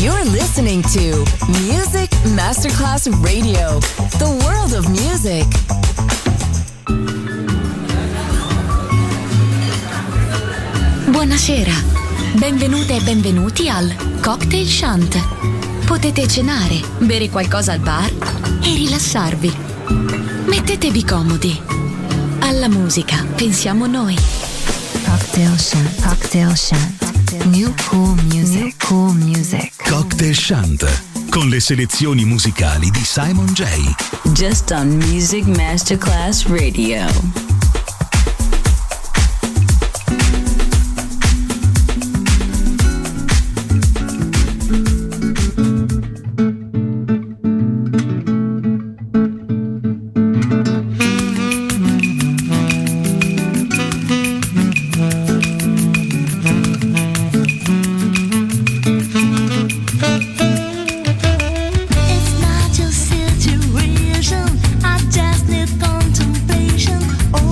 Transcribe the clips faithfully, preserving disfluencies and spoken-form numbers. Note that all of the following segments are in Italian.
You're listening to Music Masterclass Radio, the world of music. Buonasera, benvenute e benvenuti al Cocktail Shant. Potete cenare, bere qualcosa al bar e rilassarvi. Mettetevi comodi. Alla musica pensiamo noi. Cocktail Shant, Cocktail Shant. New cool music, New cool music. Cocktail Shant, con le selezioni musicali di Simon J. Just on Music Masterclass Radio. Situation, I just need contemplation. Oh,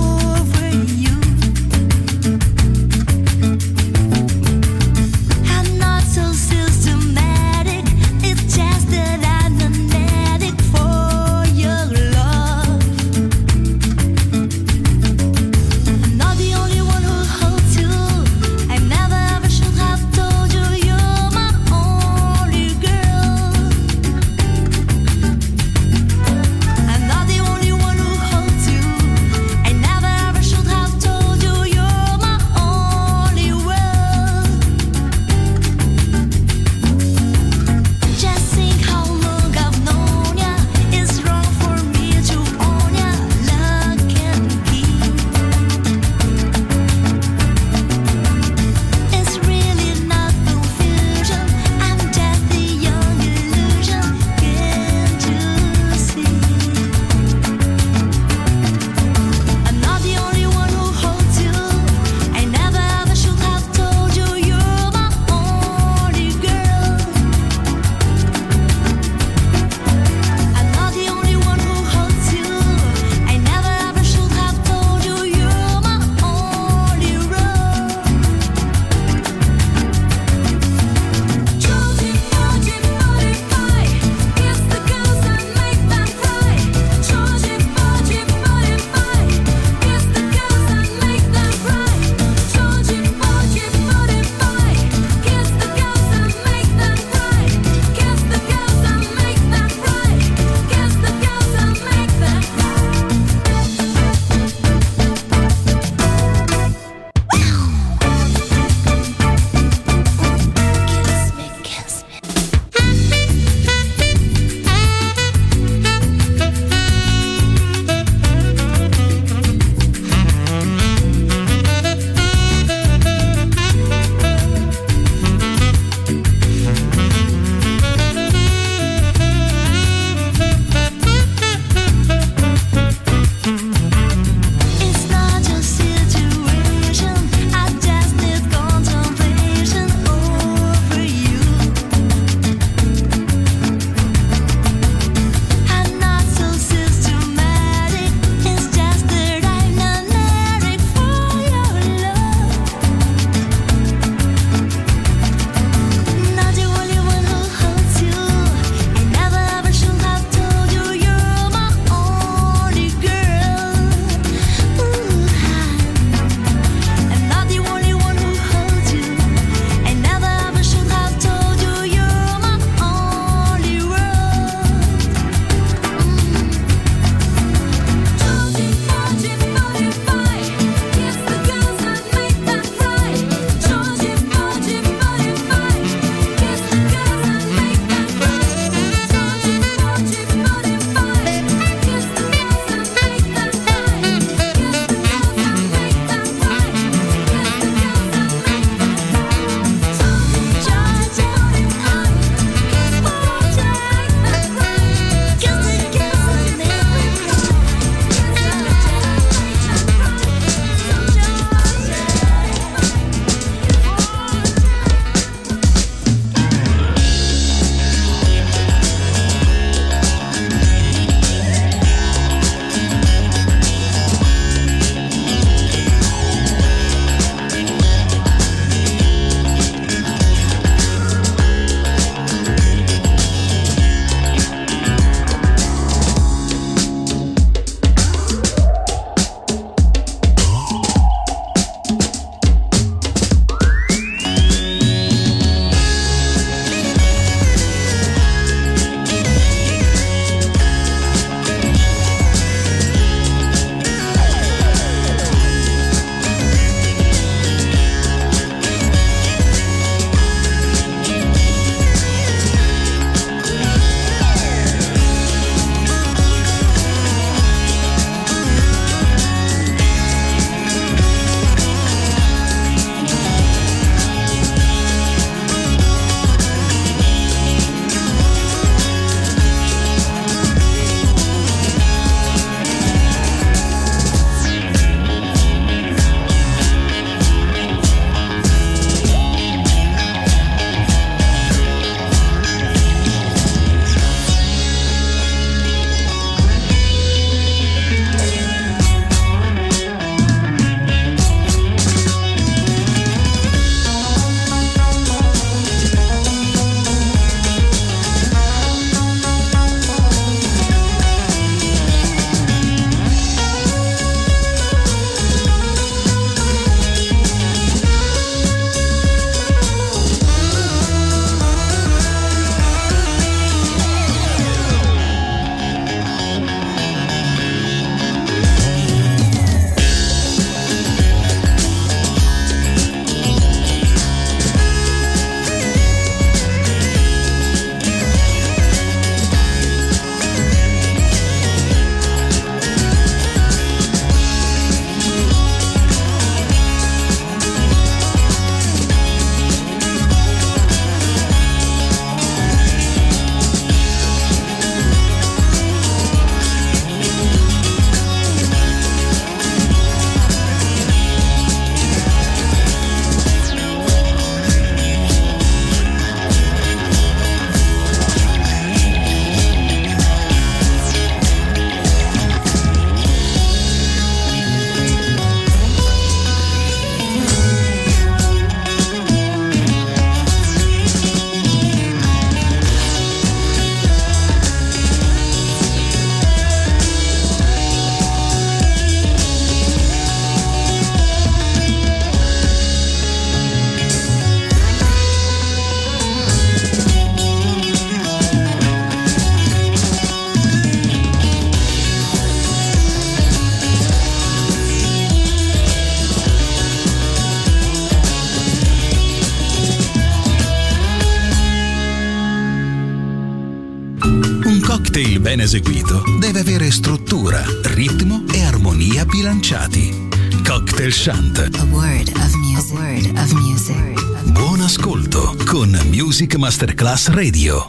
cocktail ben eseguito deve avere struttura, ritmo e armonia bilanciati. Cocktail Chant. A word of music. A word of music. Buon ascolto con Music Masterclass Radio.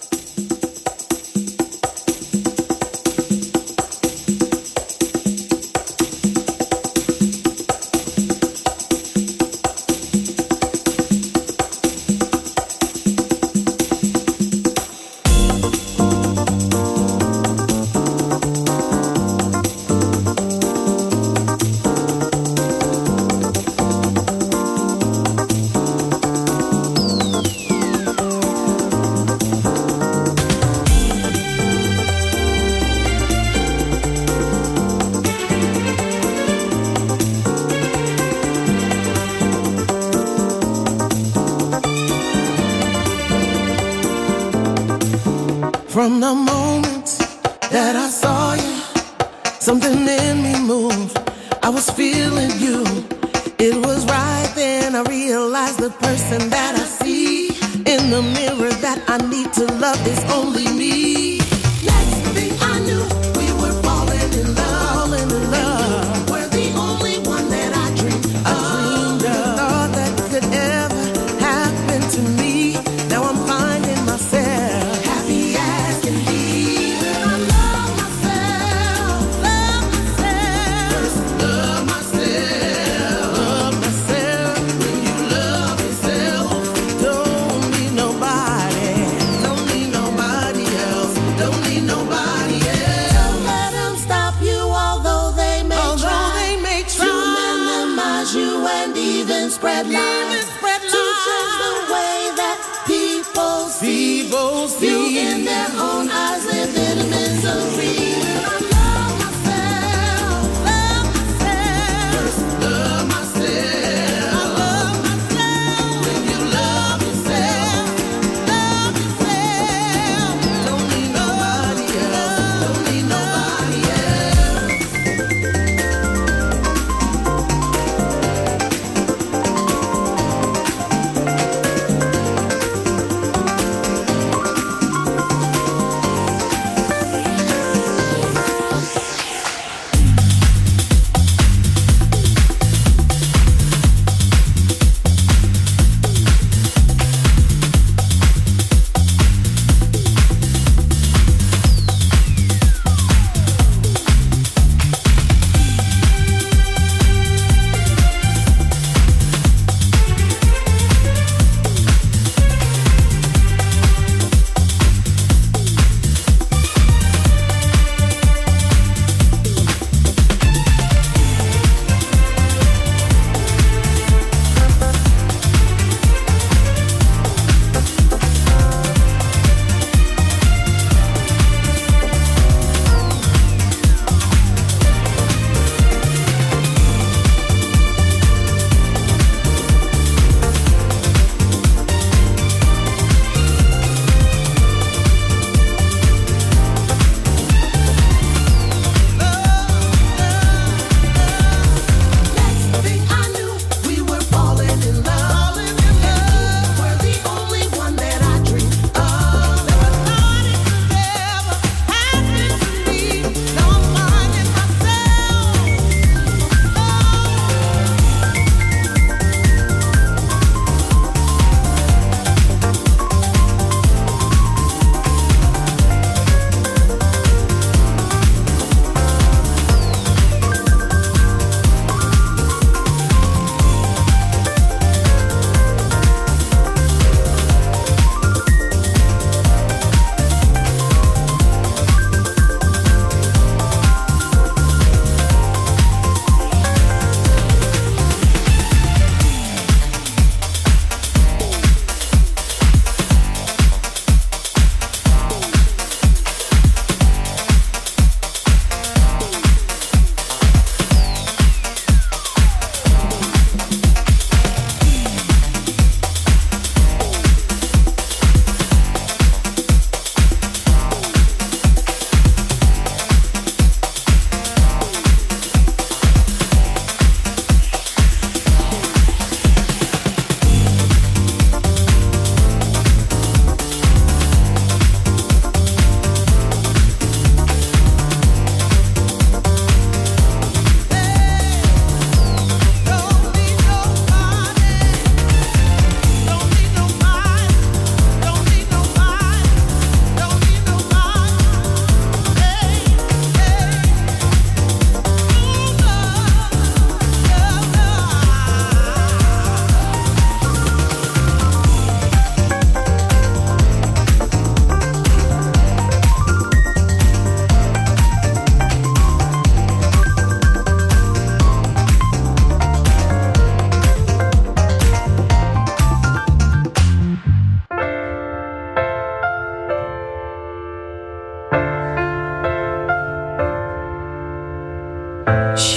From the moment that I saw you, something in me moved. I was feeling you. It was right then I realized the person that I see in the mirror that I need to love is only me. Next thing I knew, we were falling in love. Falling in love. You were the only one that I dreamed of. I dreamed of. Thought that could ever happen to me. Now I'm finding myself. Spread lies, spread lies. To change the way that people see, people see. You in their own eyes live in misery. I love myself, love myself. First love myself, I love myself. When you love yourself, love yourself. Don't need nobody else, don't need nobody else.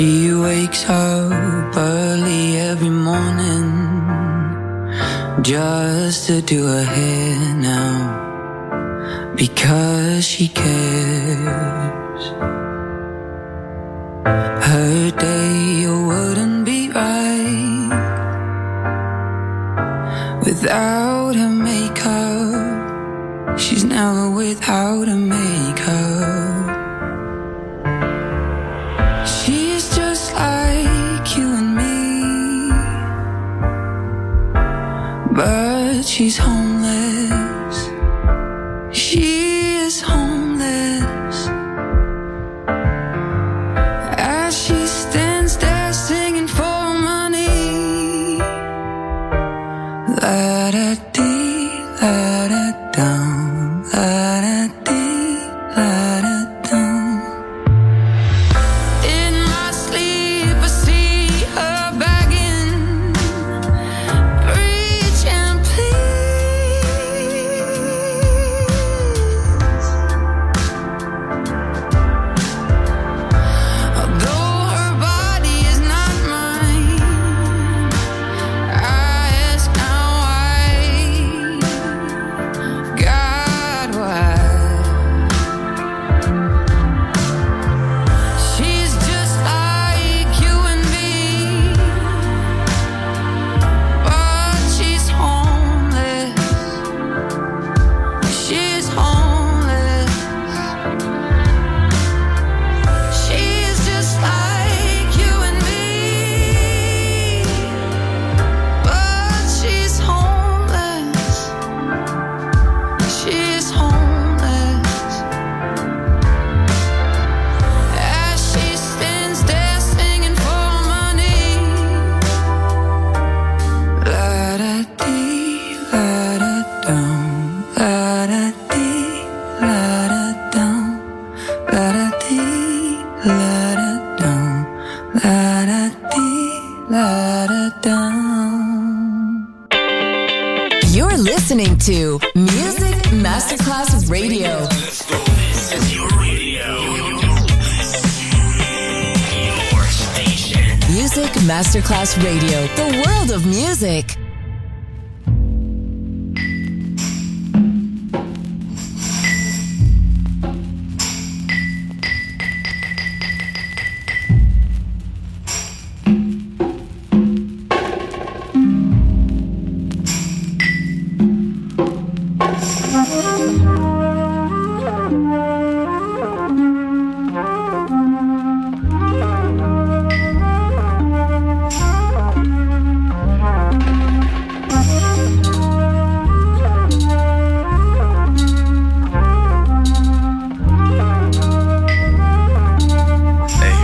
She wakes up early every morning just to do her hair now, because she cares. Her day wouldn't be right without her makeup. She's never without her makeup. She's just like you and me, but she's homeless. She is homeless. As she stands there singing for money, la da dee, la da down, la da dee, la da down. In my sleep I see her begging, preach and please. Although her body is not mine, I ask now why, God, why? She's just like you and me, but she's homeless. She's homeless. She's just like you and me, but she's homeless. She's homeless. As she stands there singing for money, la da dee, la da down, la da dee, la da down, la da dee, la da down, la da dee, la da down. You're listening to Music Masterclass Radio. This is your radio. Your station. Music Masterclass Radio. The world of music. Ehi,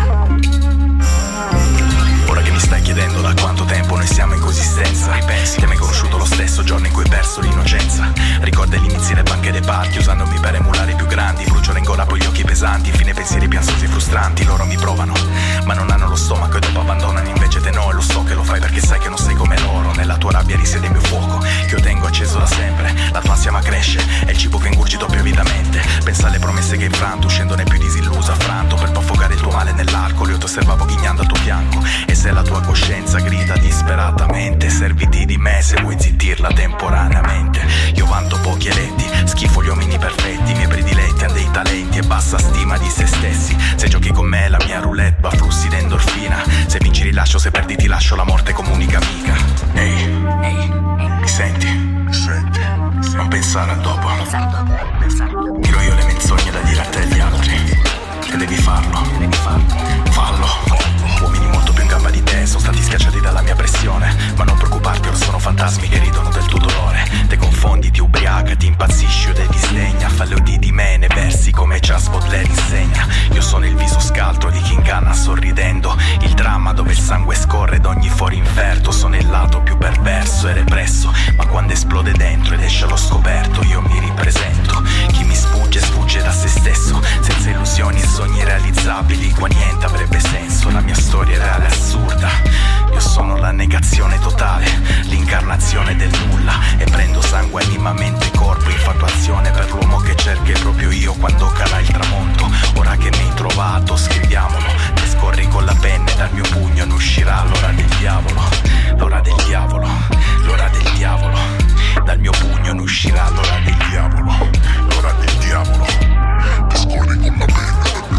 ora che mi stai chiedendo da quanto tempo noi siamo in coesistenza, ripensi che mi hai conosciuto lo stesso giorno in cui hai perso l'innocenza. Ricorda gli inizi alle banche dei parchi, usandomi per emulare i più grandi. Bruciole in gola poi gli occhi pesanti, infine pensieri piansosi e frustranti. Loro mi provano, ma non hanno lo stomaco e dopo abbandonano, invece te no. E lo so che lo fai perché sai che non sei come loro. Nella tua rabbia risiede il mio fuoco, che io tengo acceso da sempre. La tua ansia ma cresce, è il cibo che ingurgito più avidamente. Pensa alle promesse che hai infranto, uscendone più disilluso, affranto. Per poi affogare il tuo male nell'alcol, io ti osservavo ghignando al tuo fianco. E se la tua coscienza grida disperatamente, serviti di me se vuoi zittirla temporaneamente. Io vanto pochi eletti, schifo gli uomini perfetti. I miei prediletti hanno dei talenti e bassa stima di se stessi. Se giochi con me la mia roulette va flussi d'endorfina. Se vinci rilascio, se perdi ti lascio, la morte come unica amica. Ehi, ehi, mi senti? Senti. Non pensare al dopo. Tiro io le menzogne da dire a te e agli altri. Che devi farlo, devi farlo. Fallo. Uomini molto più in gamba di te sono stati schiacciati dalla mia pressione. Ma non preoccuparti, ora sono fantasmi che ridono del tuo dolore. Te confondi, ti ubriaca, ti impazzisci o te disdegna. Fallo di di me nei versi come Charles Baudelaire insegna. Io sono il viso scaltro di chi inganna sorridendo, il dramma dove il sangue scorre d'ogni foro inferto. Sono il lato più perverso e represso, ma quando esplode dentro ed esce allo scoperto io mi ripresento. Chi mi sfugge sfugge da se stesso, senza illusioni e sogni realizzabili qua niente avrebbe senso. La mia storia è reale e assurda, io sono la negazione totale, l'incarnazione del nulla. E prendo sangue, anima, mente, corpo, infatuazione per l'uomo che cerca proprio io quando cala il tramonto. Ora che mi hai trovato scriviamolo, te scorri scrivi con la penna e dal mio pugno ne uscirà l'ora del diavolo, l'ora del diavolo, l'ora del diavolo. Dal mio pugno ne uscirà l'ora del diavolo, l'ora del diavolo. Ti scorri con la penna.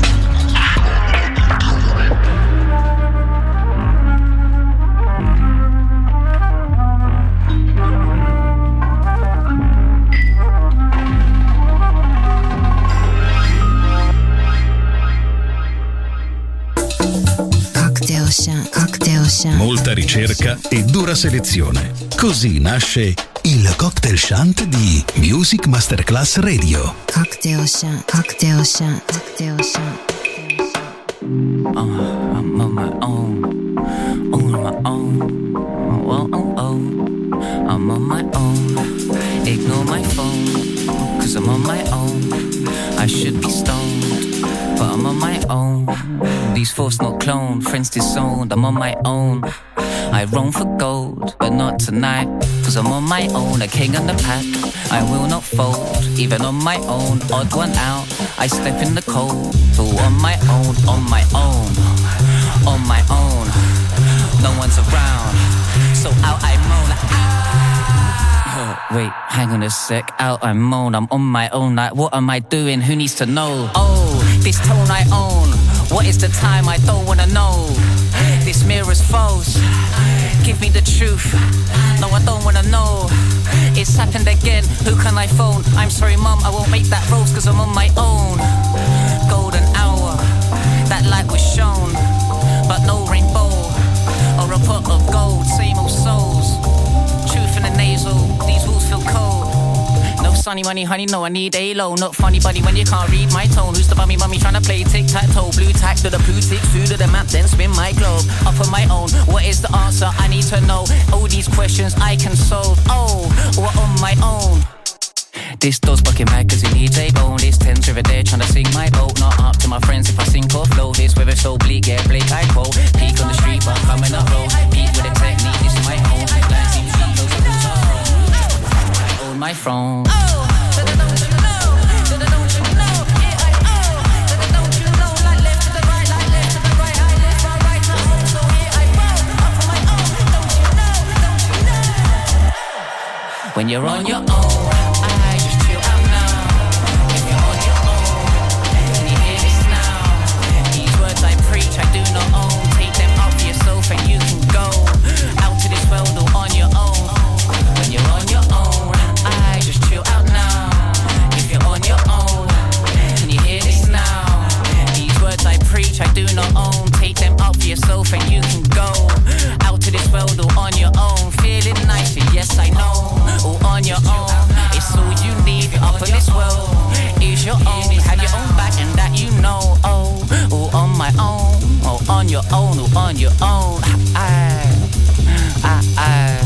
Molta ricerca e dura selezione. Così nasce il Cocktail Shant di Music Masterclass Radio. Cocktail Shant, Cocktail Shant, Cocktail Shant. Uh, I'm on my own, on my own. Oh, oh, oh. I'm on my own. Ignore my phone, cause I'm on my own. I should be stoned, but I'm on my own. These thoughts not cloned, friends disowned. I'm on my own. I roam for gold, but not tonight, cause I'm on my own. A king on the pack, I will not fold. Even on my own, odd one out, I step in the cold. All on my own, on my own, on my own. No one's around, so out I moan like, ah. Oh, wait, hang on a sec, out I moan. I'm on my own, like what am I doing, who needs to know? Oh, this tone I own. What is the time? I don't wanna know. This mirror's false. Give me the truth. No, I don't wanna know. It's happened again. Who can I phone? I'm sorry, mum, I won't make that roast cause I'm on my own. Golden hour. That light was shown, but no rainbow or a pot of gold. Same old souls. Truth in the nasal. These walls feel cold. No sunny money, honey, no, I need A-Lo. Not funny, buddy, when you can't read my tone. Who's the bummy mummy trying to play tic-tac-toe? Blue tack to the blue tick, through to the map, then spin my globe. Up on my own, what is the answer? I need to know. All these questions I can solve. Oh, we're on my own. This door's fucking mad cause it needs a bone. This Thames River there trying to sink my boat. Not up to my friends if I sink or float. This weather so bleak, yeah, bleak, I quote. Peak on the street, but I'm coming up road. Peak with a technique, this is my own. Land seems sweet, those are rules are wrong. I own my throne. Oh, don't you know? Don't you know? Yeah, I own. Don't you know? Like left to the right, like left to the right. I left, right, right, to home. So here I roll. Up on my own. Don't you know? Don't you know? When you're on your own. I do not own, take them up for yourself and you can go out to this world all on your own. When you're on your own, I just chill out now. If you're on your own, can you hear this now? These words I preach, I do not own, take them up for yourself and you can go out to this world all on your own. Feeling nice, yes I know, all on your own. It's all you need up on this world. Is your own, have your own back and that you know. Oh, all on my own. Oh, on your own, oh, on your own. I, I, I.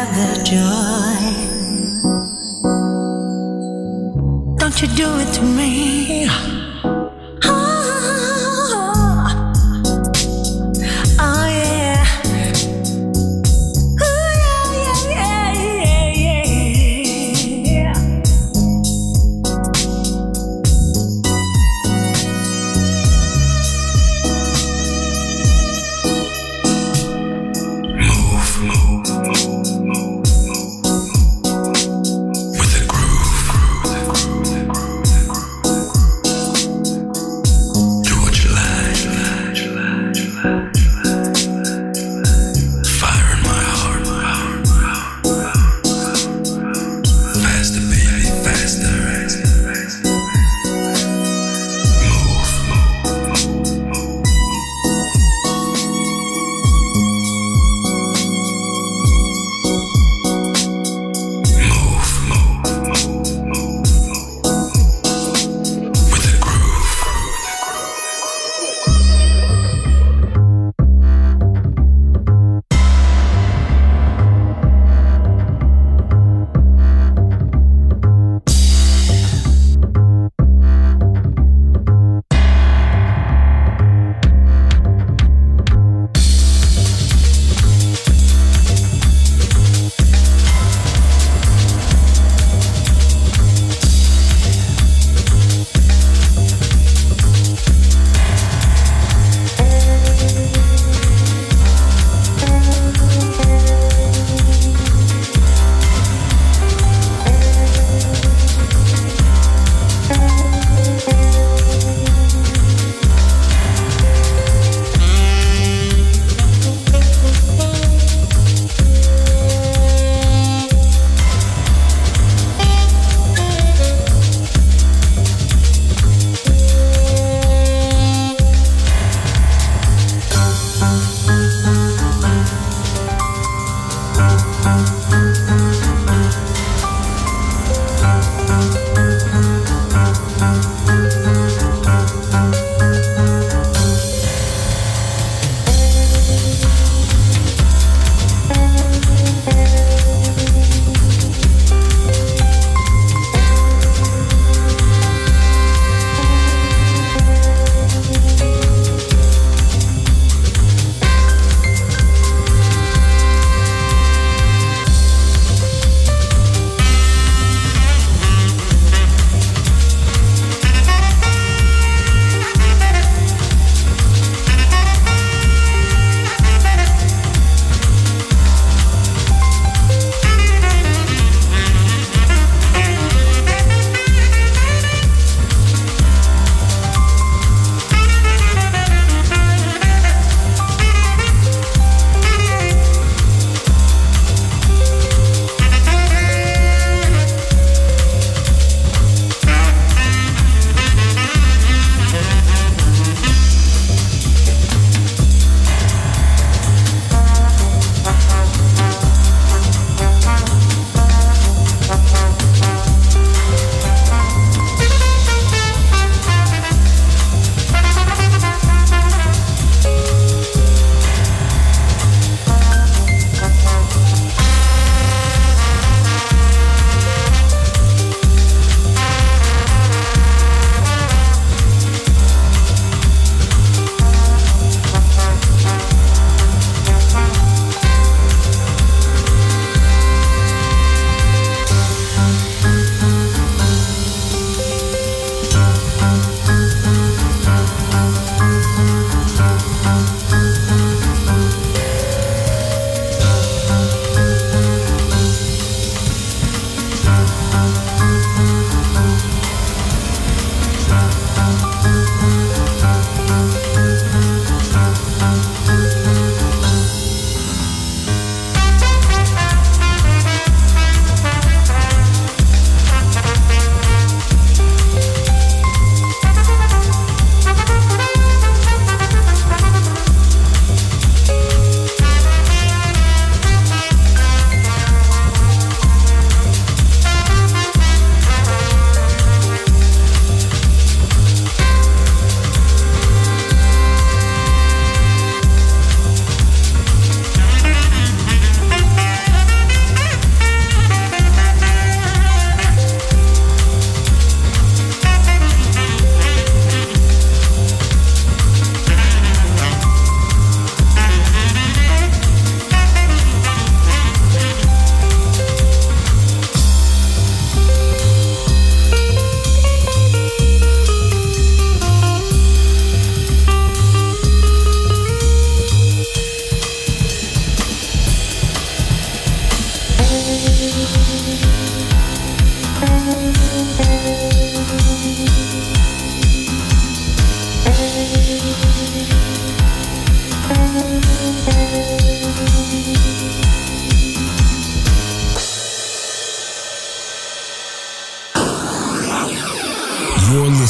have the joy. Don't you do it to me.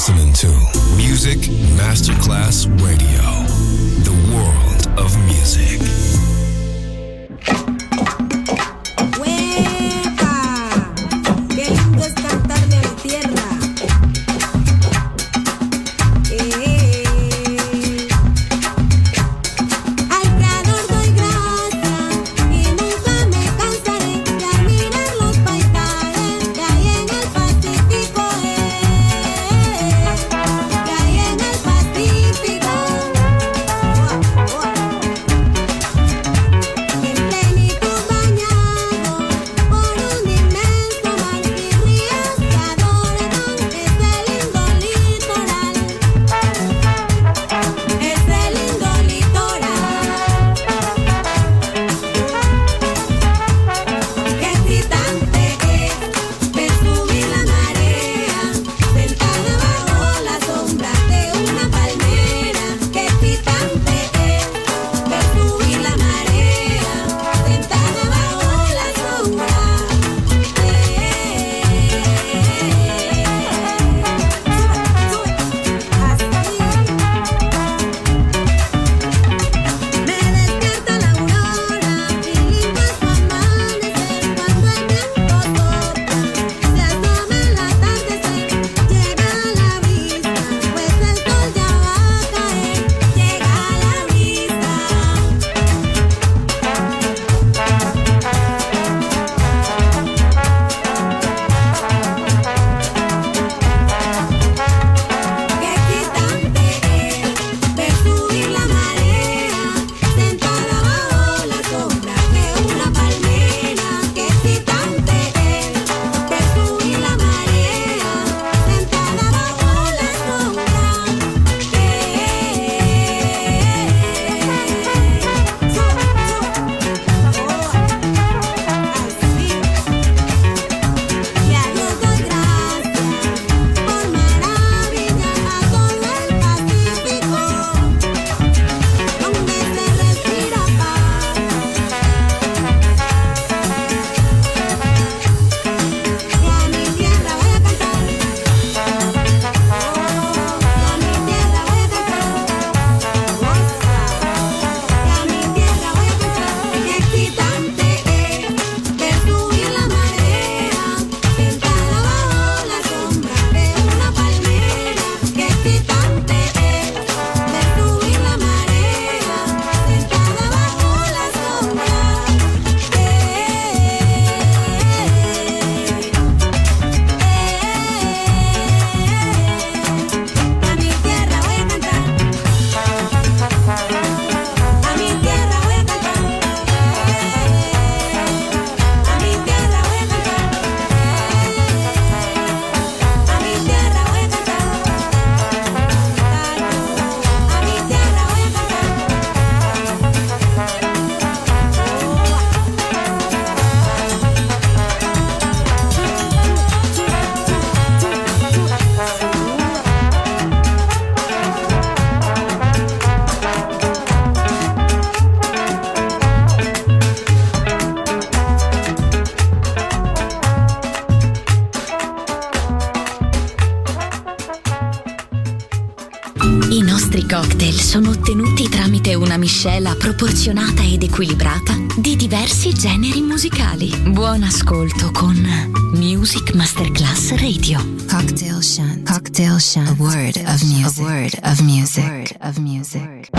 listening to Music Masterclass Radio, the world of music. Cocktail sono ottenuti tramite una miscela proporzionata ed equilibrata di diversi generi musicali. Buon ascolto con Music Masterclass Radio. Cocktail Shant. Cocktail Shant. A word of music. A word of music. A word of music.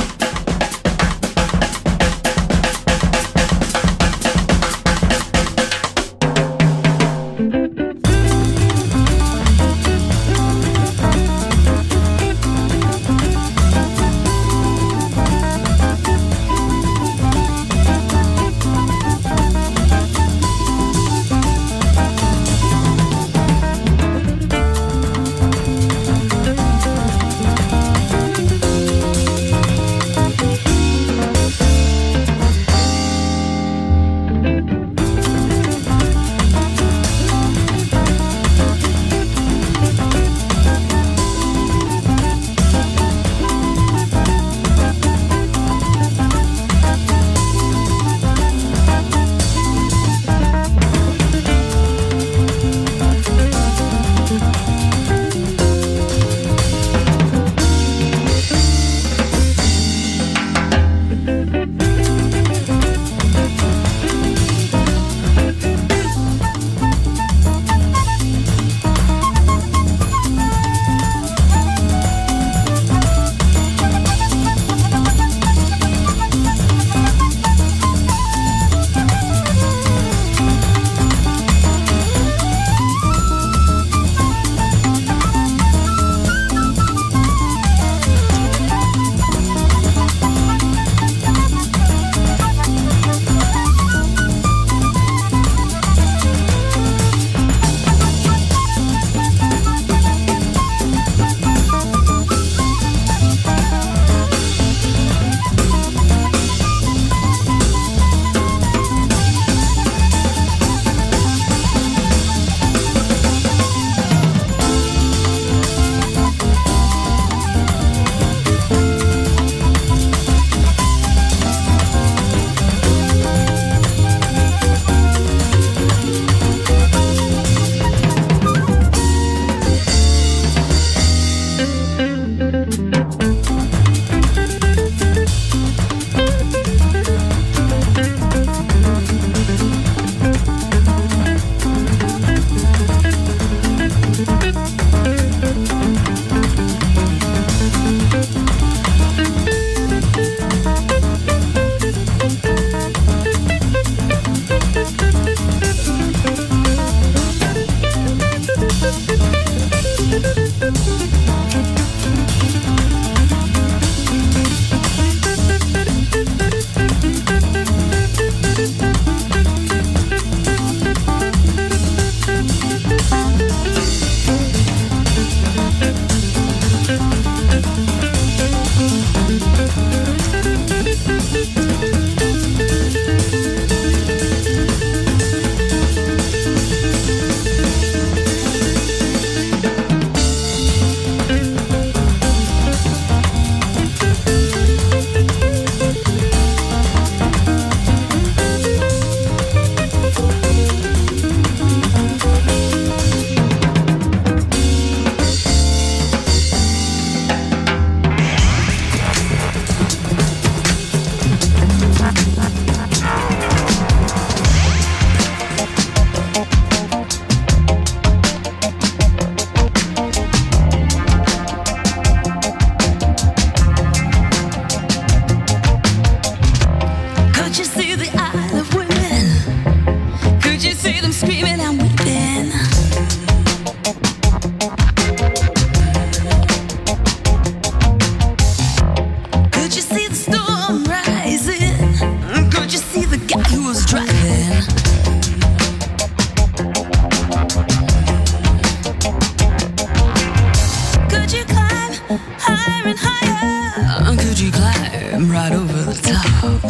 climb right over the top.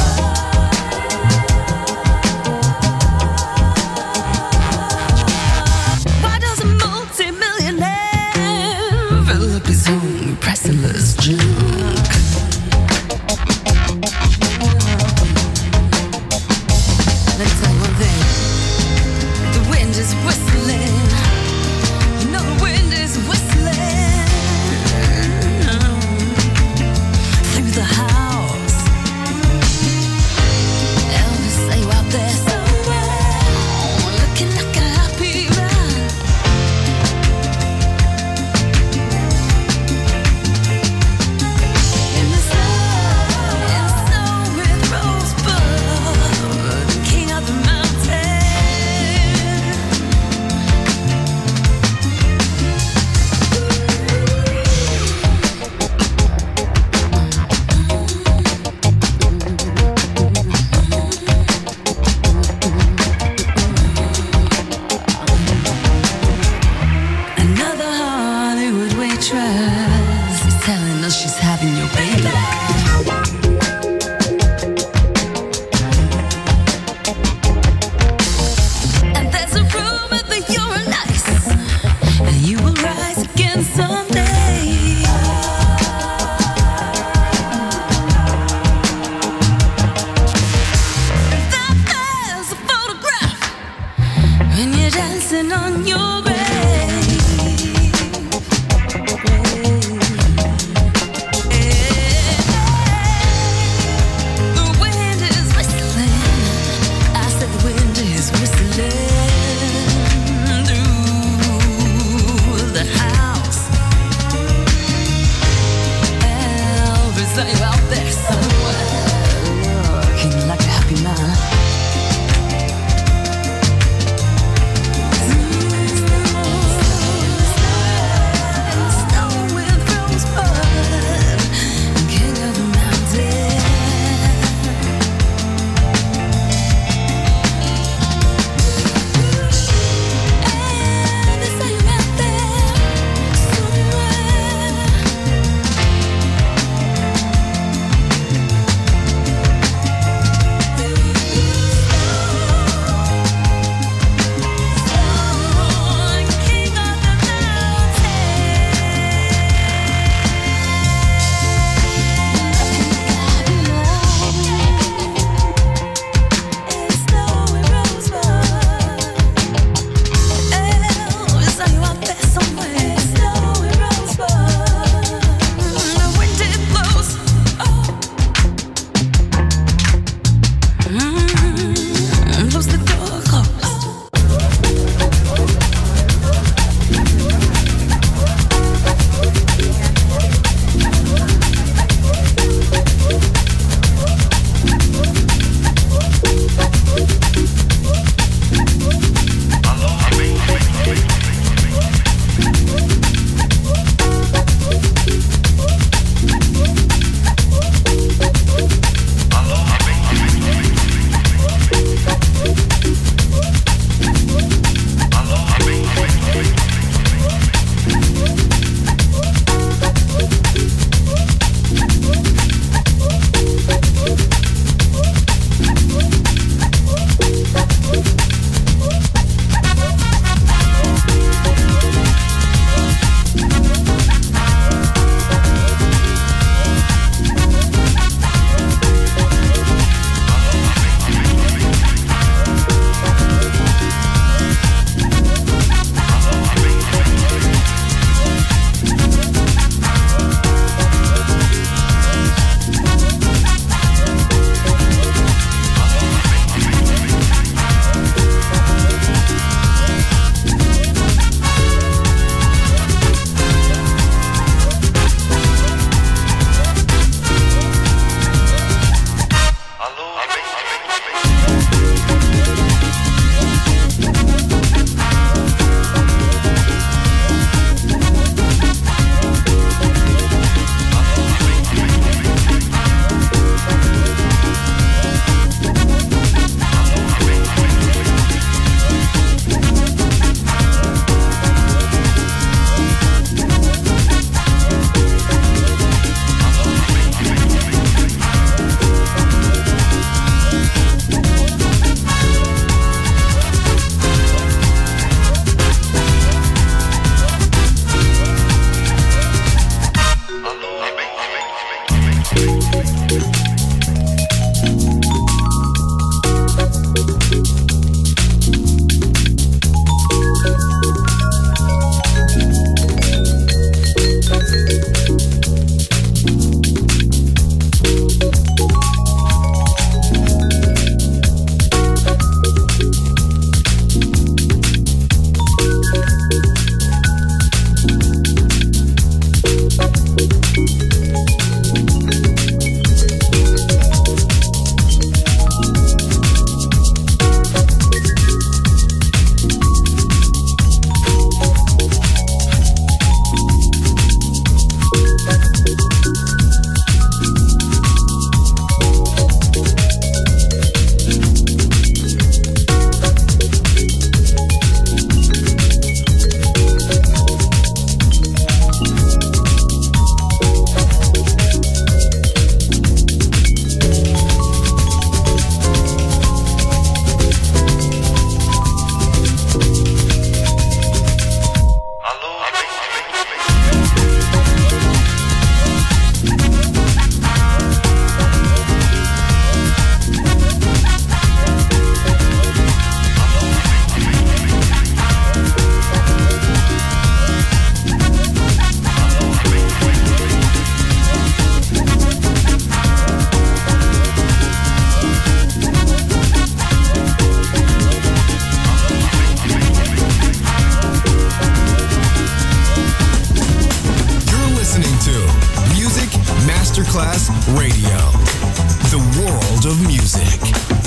Why does a multi-millionaire fill up his own priceless junk? Let me tell you one thing. The wind is whistling. You know the wind is whistling through the house. Elvis, are you out there somewhere? Looking like a happy man. In the snow, in the snow with Rosebud, king of the mountain. Another Hollywood waitress is telling us she's having your baby. And there's a rumor that you're nice, and you will rise again someday. That there's a photograph when you're dancing on your grave. The wind is whistling. I said the wind is whistling through the house. Elvis, are you out there somewhere? Looking like a happy man. Snow with Rosebud, king of the mountain. And they say you're out there somewhere. Radio, the world of music.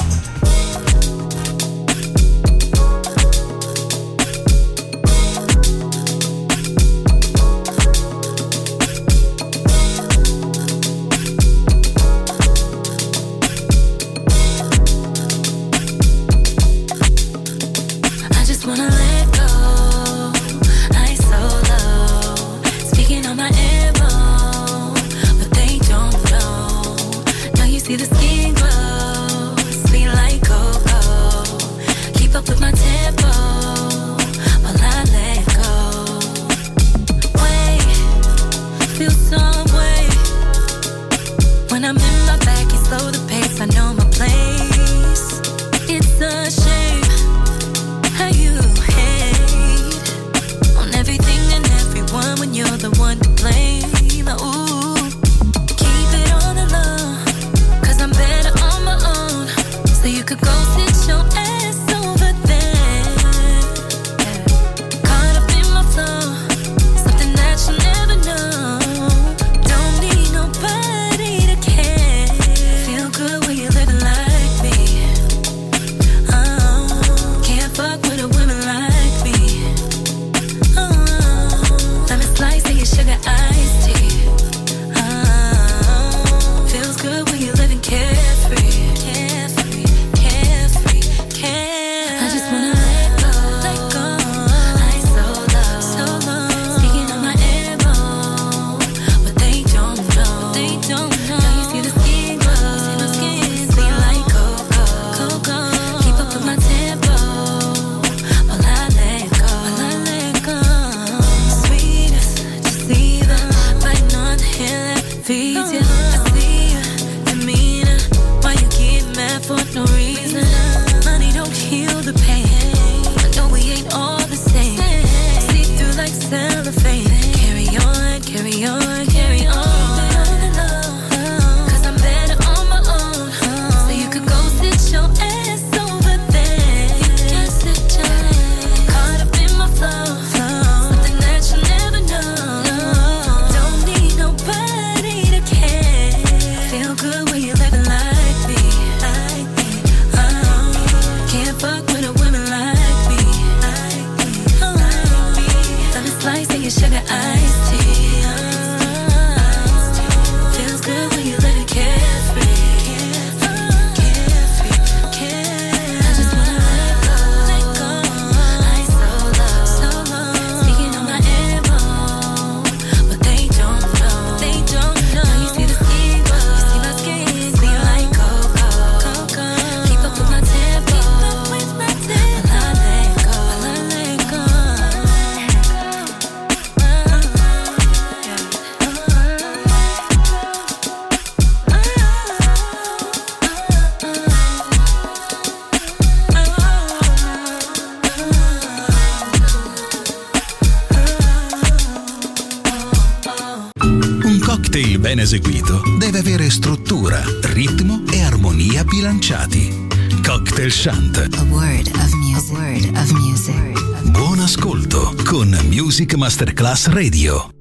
Ben eseguito deve avere struttura, ritmo e armonia bilanciati. Cocktail Chant. A word of music. A word of music. Buon ascolto con Music Masterclass Radio.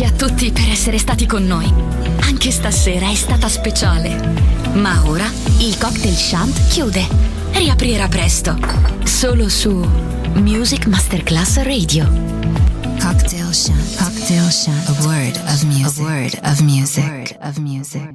Grazie a tutti per essere stati con noi. Anche stasera è stata speciale. Ma ora il Cocktail Shant chiude. Riaprirà presto. Solo su Music Masterclass Radio. Cocktail Shant. Cocktail Shant. A word of music. A word of music. A word of music.